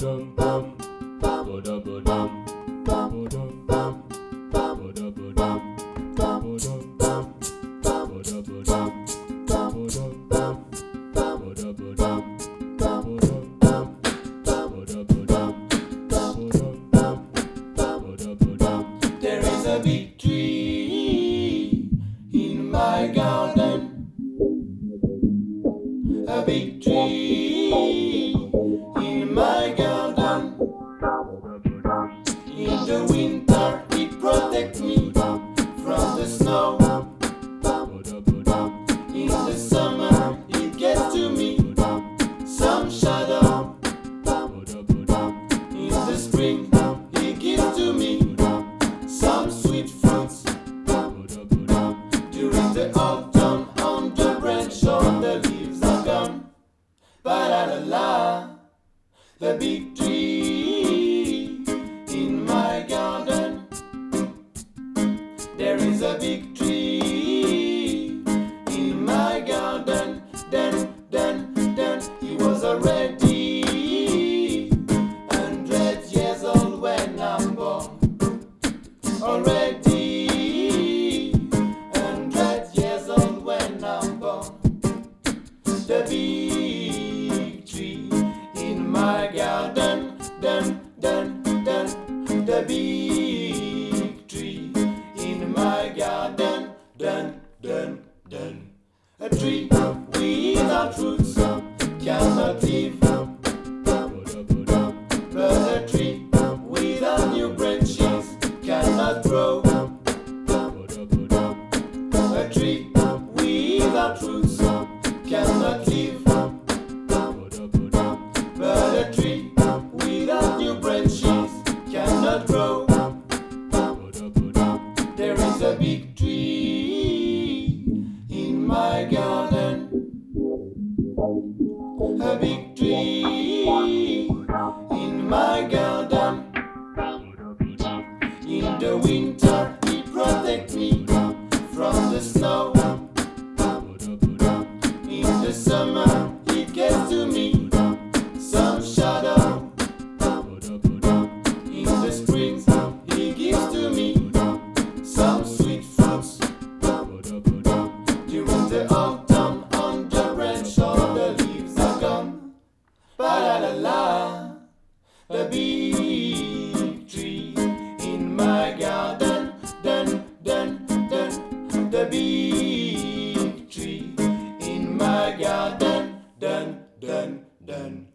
There is a big tree in my garden, a big tree in my garden. In the winter it protects me from the snow. In the summer it gets to me some shadow. In the spring it gives to me some sweet fruits. During the autumn on the branch all the leaves are gone. Ba-da-da-la, the big tree in my garden. There is a big tree in my garden. Then he was already 100 years old when I'm born. Already 100 years old when I'm born. The big tree in my garden. The big tree in my garden. A tree without roots cannot live, but a tree without new branches cannot grow. A tree without roots cannot live, but a tree without new branches cannot grow. There is a big tree in my garden, a big tree in my garden. In the winter it protects me from the snow. In the summer it gets to me some shadow. In the spring it gives to me some sweet fruits. During the autumn on the branch all the leaves are gone. Ba-da-da-la, the big tree in my garden. The big tree in my garden.